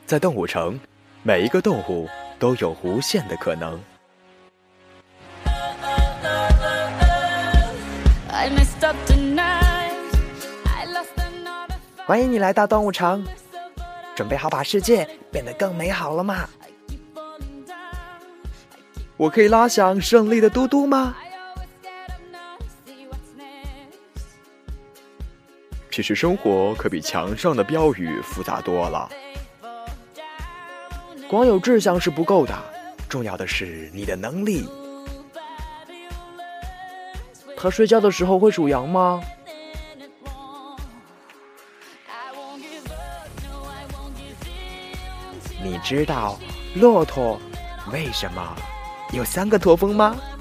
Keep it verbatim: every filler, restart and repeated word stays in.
在动物城，每一个动物都有无限的可能。 欢迎你来到动物城，准备好把世界变得更美好了吗？我可以拉响胜利的嘟嘟吗？ 其实生活可比墙上的标语复杂多了。 光有志向是不够的，重要的是你的能力。他睡觉的时候会数羊吗？你知道骆驼为什么有三个驼峰吗？